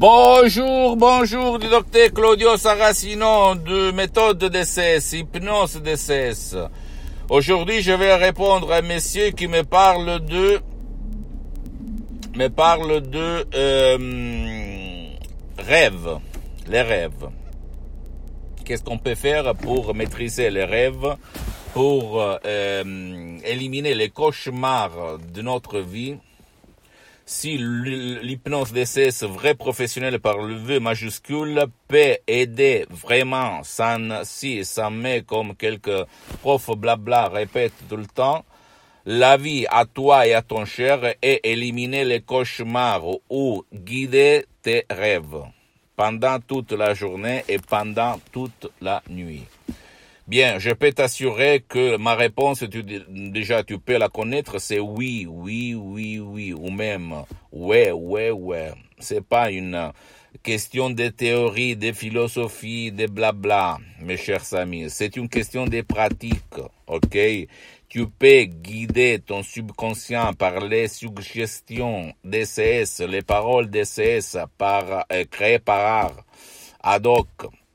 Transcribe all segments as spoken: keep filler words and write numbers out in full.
Bonjour, bonjour du docteur Claudio Saracino de méthode D C S, hypnose D C S. Aujourd'hui, je vais répondre à un monsieur qui me parle de, me parle de euh, rêves, les rêves. Qu'est-ce qu'on peut faire pour maîtriser les rêves, pour euh, éliminer les cauchemars de notre vie? Si l'hypnose D C S vrai professionnel par le V majuscule peut aider vraiment sans si, sans mais comme quelques profs blabla répètent tout le temps, la vie à toi et à ton cher est éliminer les cauchemars ou guider tes rêves pendant toute la journée et pendant toute la nuit. Bien, je peux t'assurer que ma réponse, tu, déjà tu peux la connaître, c'est oui, oui, oui, oui, ou même ouais, ouais, ouais. C'est pas une question de théorie, de philosophie, de blabla, mes chers amis. C'est une question de pratique, ok? Tu peux guider ton subconscient par les suggestions D C S, les paroles D C S par, euh, créées par art, ad hoc.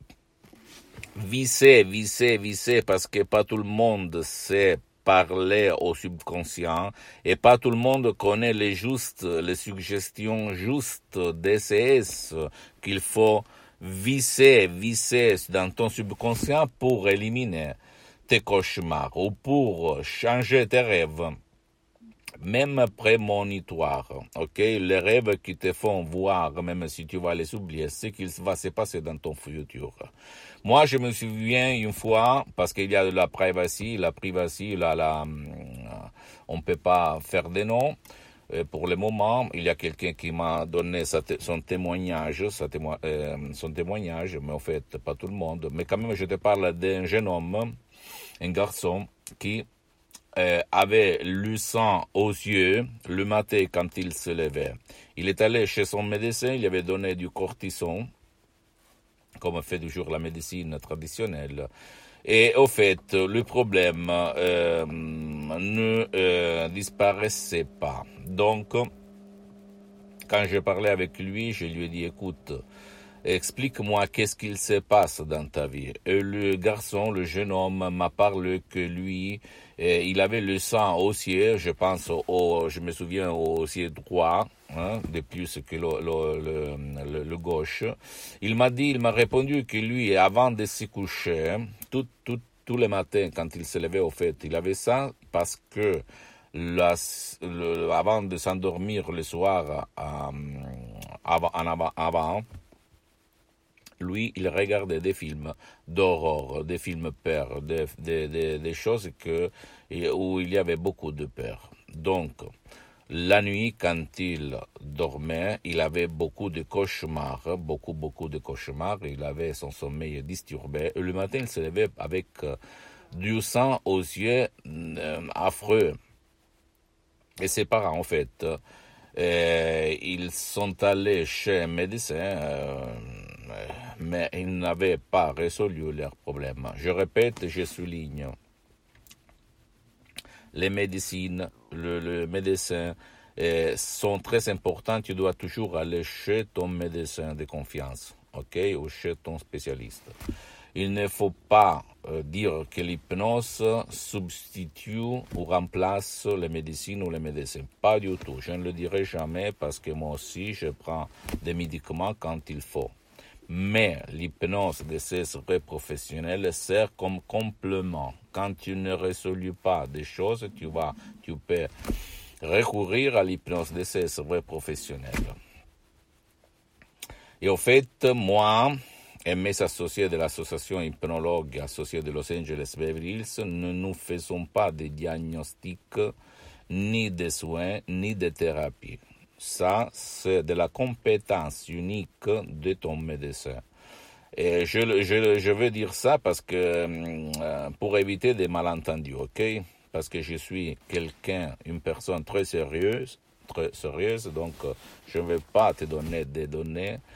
Visser, visser, visser, parce que pas tout le monde sait parler au subconscient et pas tout le monde connaît les justes, les suggestions justes D C S qu'il faut visser, visser dans ton subconscient pour éliminer tes cauchemars ou pour changer tes rêves. Même prémonitoire, ok? Les rêves qui te font voir, même si tu vas les oublier, ce qu'il va se passer dans ton futur. Moi, je me souviens une fois, parce qu'il y a de la privacy, la privacy, la, la, on peut pas faire des noms. Pour le moment, il y a quelqu'un qui m'a donné sa son témoignage, sa témo euh, son témoignage, mais en fait, pas tout le monde. Mais quand même, je te parle d'un jeune homme, un garçon, qui Euh, avait le sang aux yeux le matin quand il se levait. Il est allé chez son médecin, il avait donné du cortisone, comme fait toujours la médecine traditionnelle. Et au fait, le problème euh, ne euh, disparaissait pas. Donc, quand je parlais avec lui, je lui ai dit, écoute, explique-moi qu'est-ce qu'il se passe dans ta vie. Et le garçon, le jeune homme, m'a parlé que lui, eh, il avait le sang haussier, je pense, au, je me souviens au haussier droit, hein, de plus que le, le, le, le, le gauche. Il m'a dit, il m'a répondu que lui, avant de se coucher, tout, tout, tous les matins, quand il se levait au fait, il avait ça parce que la, le, avant de s'endormir le soir, euh, avant, en avant, avant lui, il regardait des films d'horreur, des films peur, des, des, des, des choses que, où il y avait beaucoup de peur. Donc, la nuit, quand il dormait, il avait beaucoup de cauchemars, beaucoup, beaucoup de cauchemars. Il avait son sommeil disturbé. Et le matin, il se levait avec du sang aux yeux euh, affreux. Et ses parents, en fait, euh, ils sont allés chez un médecin, euh, mais ils n'avaient pas résolu leurs problèmes. Je répète, je souligne, les médecines, le, le médecin euh, sont très importants. Tu dois toujours aller chez ton médecin de confiance, ok, ou chez ton spécialiste. Il ne faut pas euh, dire que l'hypnose substitue ou remplace les médecines ou les médecins. Pas du tout. Je ne le dirai jamais parce que moi aussi, je prends des médicaments quand il faut. Mais l'hypnose de ces vrais professionnels sert comme complément. Quand tu ne résous pas des choses, tu vas, tu peux recourir à l'hypnose de ces vrais professionnels. Et au fait, moi et mes associés de l'association hypnologue associée de Los Angeles Beverly Hills ne nous faisons pas de diagnostics, ni de soins, ni de thérapie. Ça, c'est de la compétence unique de ton médecin. Et je, je, je veux dire ça parce que, euh, pour éviter des malentendus, ok? Parce que je suis quelqu'un, une personne très sérieuse, très sérieuse, donc euh, je ne vais pas te donner des données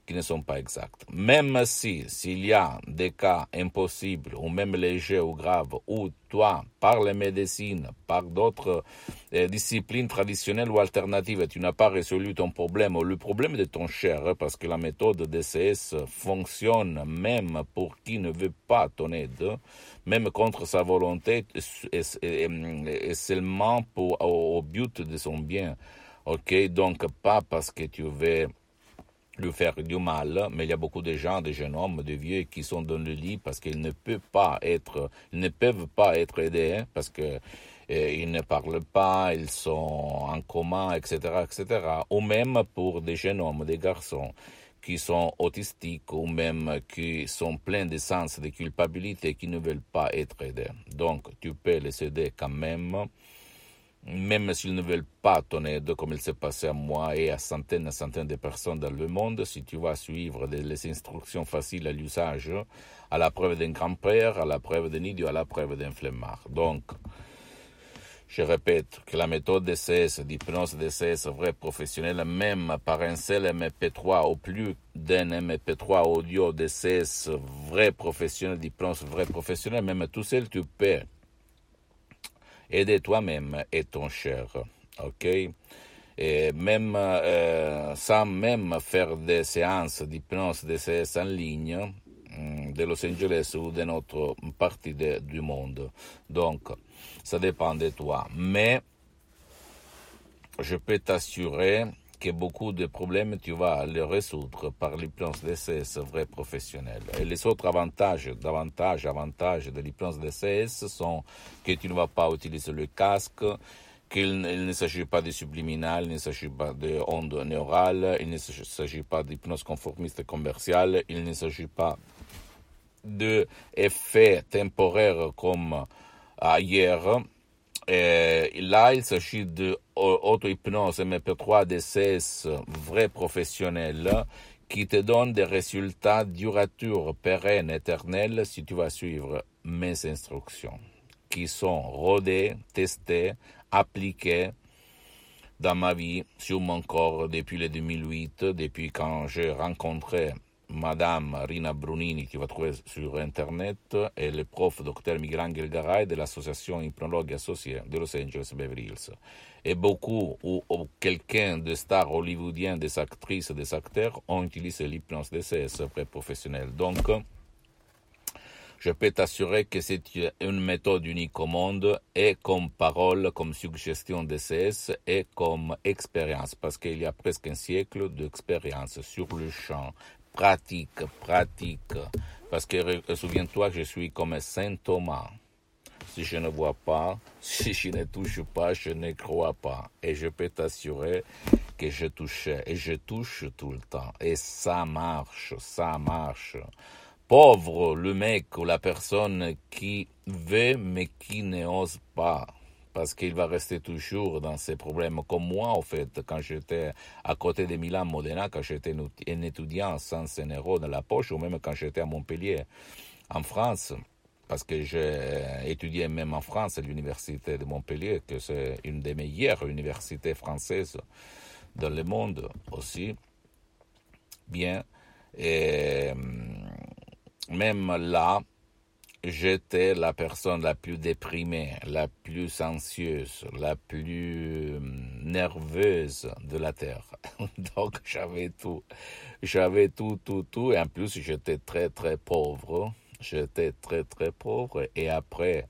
qui ne sont pas exactes. Même si, s'il y a des cas impossibles, ou même légers ou graves, où toi, par les médecines, par d'autres euh, disciplines traditionnelles ou alternatives, tu n'as pas résolu ton problème, ou le problème de ton cher, hein, parce que la méthode D C S fonctionne même pour qui ne veut pas ton aide, même contre sa volonté, et, et, et seulement pour, au, au but de son bien. Ok, donc pas parce que tu veux lui faire du mal, mais il y a beaucoup de gens, de jeunes hommes, de vieux qui sont dans le lit parce qu'ils ne peuvent pas être, ils ne peuvent pas être aidés, hein, parce que euh, ils ne parlent pas, ils sont en coma, et cetera, et cetera. Ou même pour des jeunes hommes, des garçons qui sont autistiques ou même qui sont pleins de sens de culpabilité, qui ne veulent pas être aidés. Donc, tu peux les aider quand même, même s'ils ne veulent pas ton aide, comme il s'est passé à moi et à centaines et centaines de personnes dans le monde, si tu vas suivre des, les instructions faciles à l'usage, à la preuve d'un grand-père, à la preuve d'un idiot, à la preuve d'un flemmard. Donc, je répète que la méthode D C S, d'hypnose D C S vrai professionnel, même par un seul M P trois ou plus d'un M P trois audio D C S vrai professionnel, d'hypnose vrai professionnel, même tout seul, tu peux aider toi-même et ton cher, ok? Et même euh, sans même faire des séances d'hypnose D C S en ligne de Los Angeles ou de notre partie de, du monde. Donc, ça dépend de toi. Mais je peux t'assurer que beaucoup de problèmes, tu vas les résoudre par l'hypnose D C S vrai professionnel. Et les autres avantages, davantage avantages de l'hypnose D C S sont que tu ne vas pas utiliser le casque, qu'il ne s'agit pas de subliminal, il ne s'agit pas de ondes neurales, il ne s'agit pas d'hypnose conformiste commerciale, il ne s'agit pas d'effets temporaires comme ailleurs. Et là, il s'agit de auto-hypnose M P trois D C S vrai professionnel qui te donne des résultats duratures, pérennes, éternels si tu vas suivre mes instructions qui sont rodées, testées, appliquées dans ma vie, sur mon corps depuis le deux mille huit, depuis quand j'ai rencontré Madame Rina Brunini, qui va trouver sur Internet, et le prof docteur Miguel Garay de l'association Hypnologue Associée de Los Angeles Beverly Hills. Et beaucoup, ou, ou quelqu'un de stars hollywoodiens, des actrices, des acteurs, ont utilisé l'hypnose D C S vrai professionnel. Donc, je peux t'assurer que c'est une méthode unique au monde, et comme parole, comme suggestion D C S, et comme expérience, parce qu'il y a presque un siècle d'expérience sur le champ. Pratique, pratique, parce que souviens-toi que je suis comme Saint Thomas. Si je ne vois pas, si je ne touche pas, je ne crois pas. Et je peux t'assurer que je touchais, et je touche tout le temps. Et ça marche, ça marche. Pauvre le mec ou la personne qui veut mais qui n'ose pas, parce qu'il va rester toujours dans ses problèmes. Comme moi, en fait, quand j'étais à côté de Milan Modena, quand j'étais un étudiant sans un euro dans la poche, ou même quand j'étais à Montpellier, en France, parce que j'ai étudié même en France à l'université de Montpellier, que c'est une des meilleures universités françaises dans le monde aussi. Bien, et même là, j'étais la personne la plus déprimée, la plus anxieuse, la plus nerveuse de la Terre. Donc j'avais tout, j'avais tout, tout, tout, et en plus j'étais très, très pauvre. J'étais très, très pauvre, et après,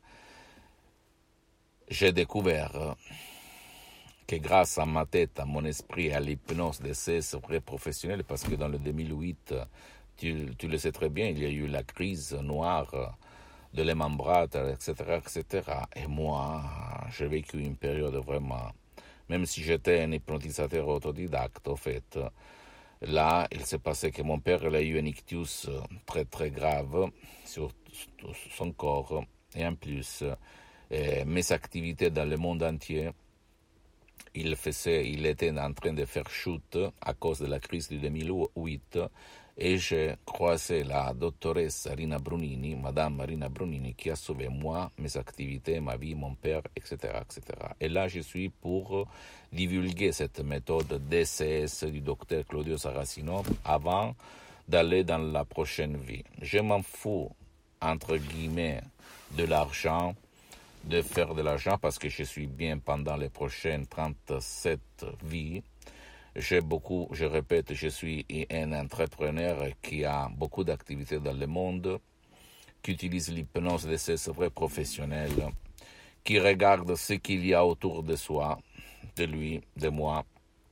j'ai découvert que grâce à ma tête, à mon esprit, à l'hypnose D C S vrai professionnel, parce que dans le deux mille huit, tu, tu le sais très bien, il y a eu la crise noire de Lehman Brothers, et cetera, et cetera. Et moi, j'ai vécu une période vraiment, même si j'étais un hypnotisateur autodidacte, en fait, là, il s'est passé que mon père il a eu un ictus très, très grave sur son corps, et en plus, eh, mes activités dans le monde entier, il faisait, il était en train de faire chute à cause de la crise de deux mille huit et j'ai croisé la doctoresse Rina Brunini, Madame Rina Brunini, qui a sauvé moi, mes activités, ma vie, mon père, et cetera, et cetera. Et là, je suis pour divulguer cette méthode D C S du docteur Claudio Saracino avant d'aller dans la prochaine vie. Je m'en fous, entre guillemets, de l'argent, de faire de l'argent parce que je suis bien pendant les prochaines trente-sept vies. J'ai beaucoup, je répète, je suis un entrepreneur qui a beaucoup d'activités dans le monde, qui utilise l'hypnose de ses vrais professionnels, qui regarde ce qu'il y a autour de soi, de lui, de moi,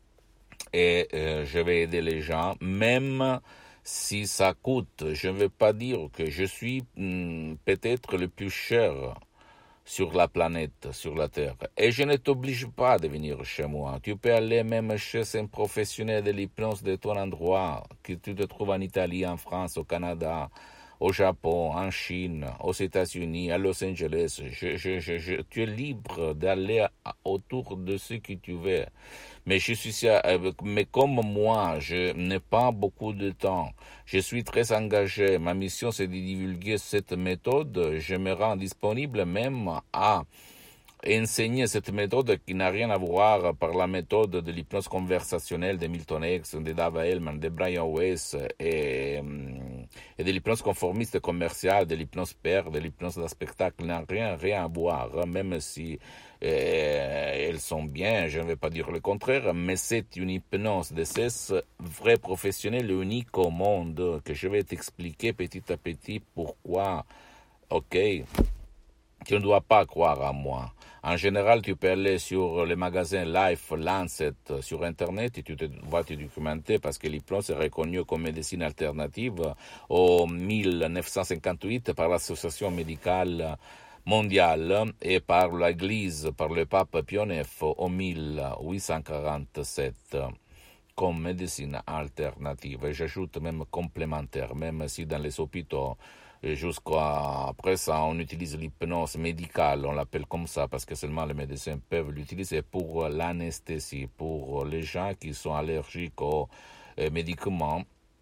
et euh, je vais aider les gens, même si ça coûte. Je ne veux pas dire que je suis hmm, peut-être le plus cher sur la planète, sur la Terre. Et je ne t'oblige pas de venir chez moi. Tu peux aller même chez un professionnel de l'hypnose de ton endroit, que tu te trouves en Italie, en France, au Canada, au Japon, en Chine, aux États-Unis, à Los Angeles. Je, je, je, je, tu es libre d'aller autour de ce que tu veux. Mais je suis, mais comme moi, je n'ai pas beaucoup de temps. Je suis très engagé. Ma mission, c'est de divulguer cette méthode. Je me rends disponible même à enseigner cette méthode qui n'a rien à voir par la méthode de l'hypnose conversationnelle de Milton X, de Dava Hellman, de Brian Weiss et, et de l'hypnose conformiste commerciale, de l'hypnose père, de l'hypnose de spectacle, n'a rien, rien à voir, même si euh, elles sont bien, je ne vais pas dire le contraire, mais c'est une hypnose de ces vrais professionnels uniques au monde que je vais t'expliquer petit à petit pourquoi, ok? Tu ne dois pas croire à moi. En général, tu peux aller sur le magasin Life Lancet sur Internet et tu te, vas te documenter parce que l'hypnose est reconnue comme médecine alternative en mille neuf cent cinquante-huit par l'Association médicale mondiale et par l'Église, par le pape Pie neuf en mille huit cent quarante-sept comme médecine alternative. Et j'ajoute même complémentaire, même si dans les hôpitaux, jusqu'à présent, on utilise l'hypnose médicale, on l'appelle comme ça parce que seulement les médecins peuvent l'utiliser pour l'anesthésie, pour les gens qui sont allergiques aux médicaments.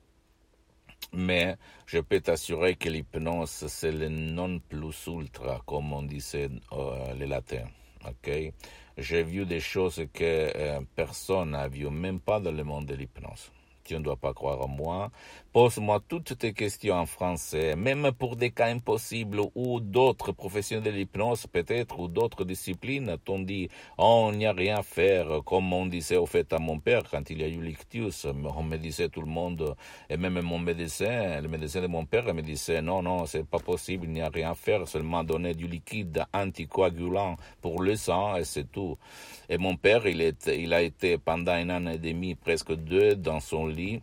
Mais je peux t'assurer que l'hypnose, c'est le non plus ultra, comme on disait euh, les latins. Okay? J'ai vu des choses que euh, personne n'a vu, même pas dans le monde de l'hypnose. Tu ne dois pas croire en moi. Pose-moi toutes tes questions en français, même pour des cas impossibles ou d'autres professionnels de l'hypnose peut-être ou d'autres disciplines t'ont dit oh, on n'y a rien à faire, comme on disait au fait à mon père quand il y a eu l'ictus. On me disait tout le monde, et même mon médecin, le médecin de mon père me disait non, non, c'est pas possible, il n'y a rien à faire, seulement donner du liquide anticoagulant pour le sang et c'est tout. Et mon père, il, est, il a été pendant un an et demi, presque deux, dans son lit,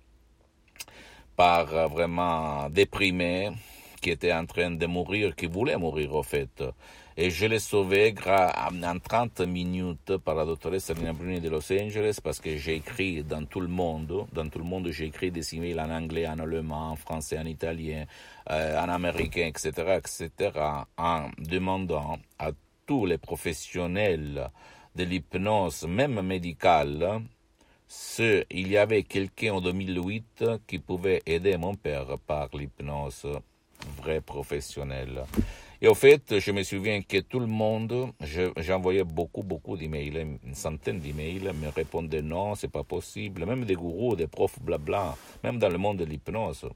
par euh, vraiment déprimé, qui était en train de mourir, qui voulait mourir au fait. Et je l'ai sauvé en trente minutes par la doctoresse Rina Brunini de Los Angeles parce que j'ai écrit dans tout le monde, dans tout le monde j'ai écrit des emails en anglais, en allemand, en français, en italien, euh, en américain, et cetera, et cetera, en demandant à tous les professionnels de l'hypnose, même médicale, ce, il y avait quelqu'un en deux mille huit qui pouvait aider mon père par l'hypnose vrai professionnel. Et au fait, je me souviens que tout le monde, j'envoyais beaucoup, beaucoup d'emails, une centaine d'emails, me répondaient non, c'est pas possible, même des gourous, des profs, blabla, même dans le monde de l'hypnose.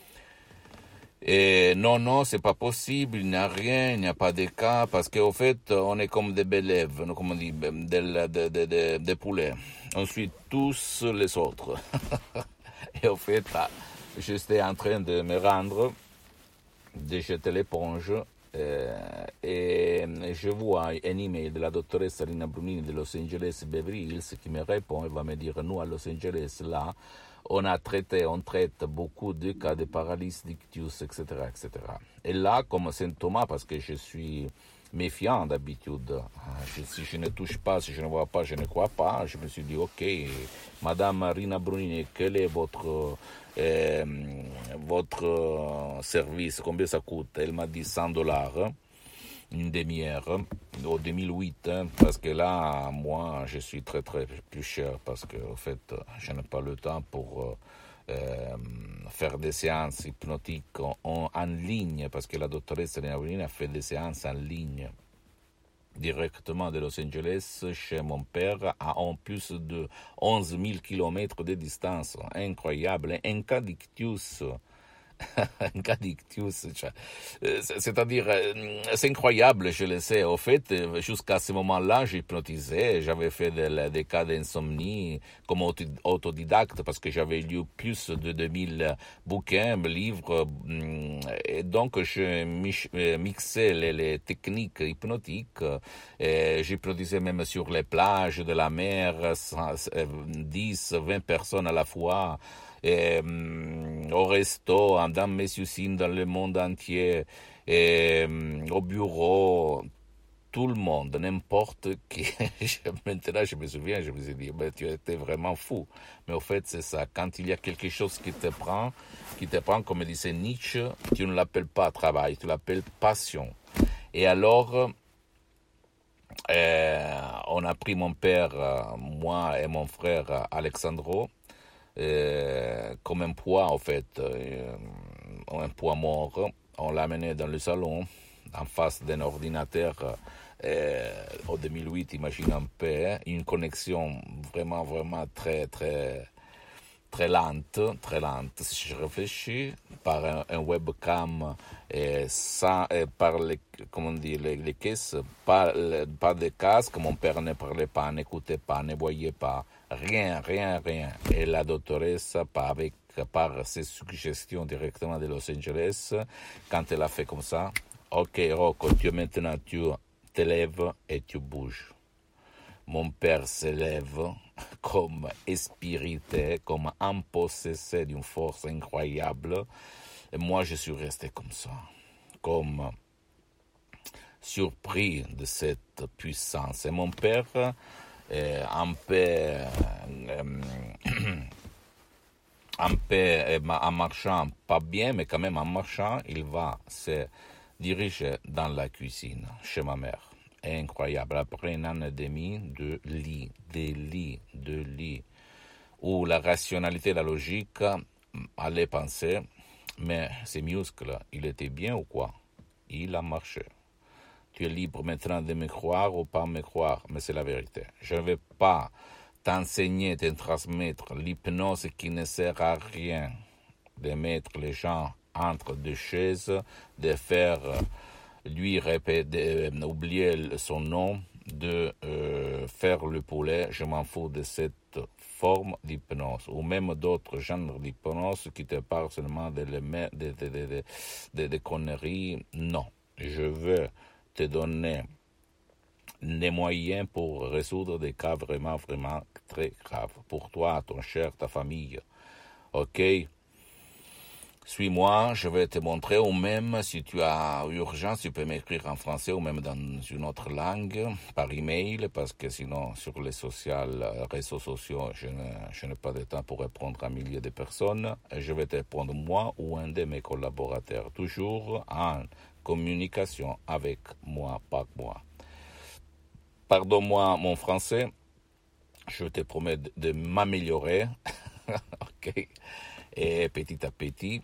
Et non, non, c'est pas possible, il n'y a rien, il n'y a pas de cas, parce qu'au fait, on est comme des bélèves, comme on dit, des, des, des, des, des poulets. On suit tous les autres. Et au fait, j'étais en train de me rendre, de jeter l'éponge, euh, et je vois un email de la doctoresse Rina Brunini de Los Angeles Beverly Hills qui me répond et va me dire, nous à Los Angeles, là, on a traité, on traite beaucoup de cas de paralysie d'ictus, et cetera, et cetera. Et là, comme symptôme, parce que je suis méfiant d'habitude, je, si je ne touche pas, si je ne vois pas, je ne crois pas, je me suis dit, ok, Madame Rina Brunini, quel est votre, euh, votre service, combien ça coûte? Elle m'a dit cent dollars. une demi-heure, au deux mille huit, hein, parce que là, moi, je suis très, très plus cher, parce que, en fait, je n'ai pas le temps pour euh, faire des séances hypnotiques en, en, en ligne, parce que la doctoresse Lena a fait des séances en ligne directement de Los Angeles chez mon père à en plus de onze mille kilomètres de distance. Incroyable, un cadictus. Un cadictus, cioè, c'est-à-dire, c'est incroyable, je le sais. Au fait, jusqu'à ce moment-là, j'hypnotisais, j'avais fait des, des cas d'insomnie comme autodidacte parce que j'avais lu plus de deux mille bouquins, livres, et donc je mixais les, les techniques hypnotiques. Et j'hypnotisais même sur les plages de la mer, dix, vingt personnes à la fois. Et, um, au resto, dans mes usines, dans le monde entier, et, um, au bureau, tout le monde, n'importe qui. Maintenant, je me souviens, je me suis dit, mais tu étais vraiment fou. Mais au fait, c'est ça. Quand il y a quelque chose qui te prend, qui te prend, comme disait Nietzsche, tu ne l'appelles pas travail, tu l'appelles passion. Et alors, euh, on a pris mon père, moi et mon frère Alexandro, Euh, comme un poids, en fait, euh, un poids mort. On l'a amené dans le salon, en face d'un ordinateur. Euh, en deux mille huit, imagine un peu, une connexion vraiment, vraiment très, très, très lente, très lente. Si je réfléchis, par un, un webcam, et sans, et par les, comment dire, les, les caisses, pas, pas de casque. Mon père ne parlait pas, n'écoutait pas, ne voyait pas. Rien, rien, rien. Et la doctoresse, avec, par ses suggestions directement de Los Angeles, quand elle a fait comme ça, ok Rocco, tu maintenant tu te lèves et tu bouges. Mon père se lève comme espirité, comme empossessé d'une force incroyable. Et moi, je suis resté comme ça, comme surpris de cette puissance. Et mon père, euh, un peu, euh, un peu en marchant, pas bien, mais quand même en marchant, il va se diriger dans la cuisine, chez ma mère. Incroyable. Après un an et demi de lit, des lits, de lits, où la rationalité, la logique allait penser, mais ces muscles, il était bien ou quoi? Il a marché. Tu es libre maintenant de me croire ou pas me croire, mais c'est la vérité. Je ne vais pas t'enseigner, te transmettre l'hypnose qui ne sert à rien, de mettre les gens entre deux chaises, de faire lui répéter, oublier son nom, de euh, faire le poulet. Je m'en fous de cette forme d'hypnose, ou même d'autres genres d'hypnose qui te parlent seulement de, de, de, de, de, de, de conneries. Non, je veux te donner les moyens pour résoudre des cas vraiment, vraiment très graves. Pour toi, ton cher, ta famille. Ok? Suis-moi, je vais te montrer, ou même si tu as urgence, tu peux m'écrire en français ou même dans une autre langue, par email, parce que sinon, sur les social, réseaux sociaux, je, ne, je n'ai pas de temps pour répondre à milliers de personnes. Et je vais te répondre moi ou un de mes collaborateurs, toujours en communication avec moi, par moi. Pardonne-moi mon français, je te promets de, de m'améliorer, ok, et petit à petit.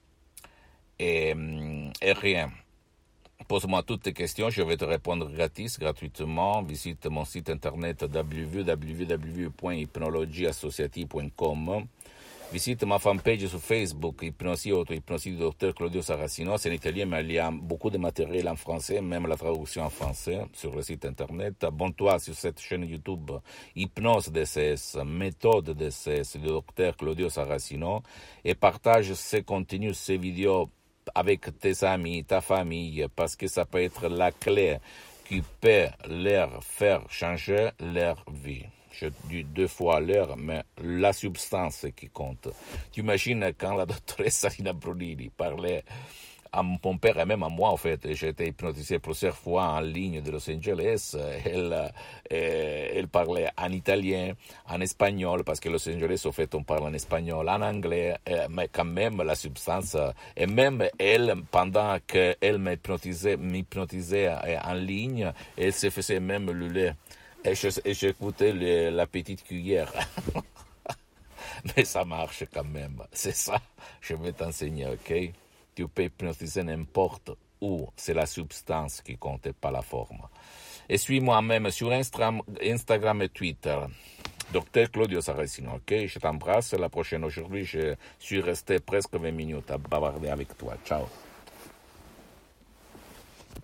Et, et rien. Pose-moi toutes tes questions, je vais te répondre gratis, gratuitement. Visite mon site internet w w w point hypnologie associative point com. Visite ma fanpage sur Facebook, Hypnosie Auto-Hypnosie du docteur Claudio Saracino. C'est en italien, mais il y a beaucoup de matériel en français, même la traduction en français sur le site internet. Abonne-toi sur cette chaîne YouTube, Hypnose D C S, méthode D C S du docteur Claudio Saracino, et partage ces contenus, ces vidéos avec tes amis, ta famille, parce que ça peut être la clé qui peut leur faire changer leur vie. Je dis deux fois l'heure, mais la substance qui compte. Tu imagines quand la doctoresse Salina Brunini parlait à mon père et même à moi, en fait. J'ai été hypnotisé plusieurs fois en ligne de Los Angeles. Elle, euh, elle parlait en italien, en espagnol, parce que Los Angeles, au fait, on parle en espagnol, en anglais, euh, mais quand même, la substance, euh, et même elle, pendant qu'elle m'hypnotisait, m'hypnotisait euh, en ligne, elle se faisait même le lait. Et je- et j'écoutais le- la petite cuillère. Mais ça marche quand même. C'est ça, je vais t'enseigner, ok? Tu peux hypnotiser n'importe où. C'est la substance qui compte, et pas la forme. Et suis-moi même sur Instra- Instagram et Twitter. Docteur Claudio Saracino, ok? Je t'embrasse. La prochaine aujourd'hui, je suis resté presque vingt minutes à bavarder avec toi. Ciao.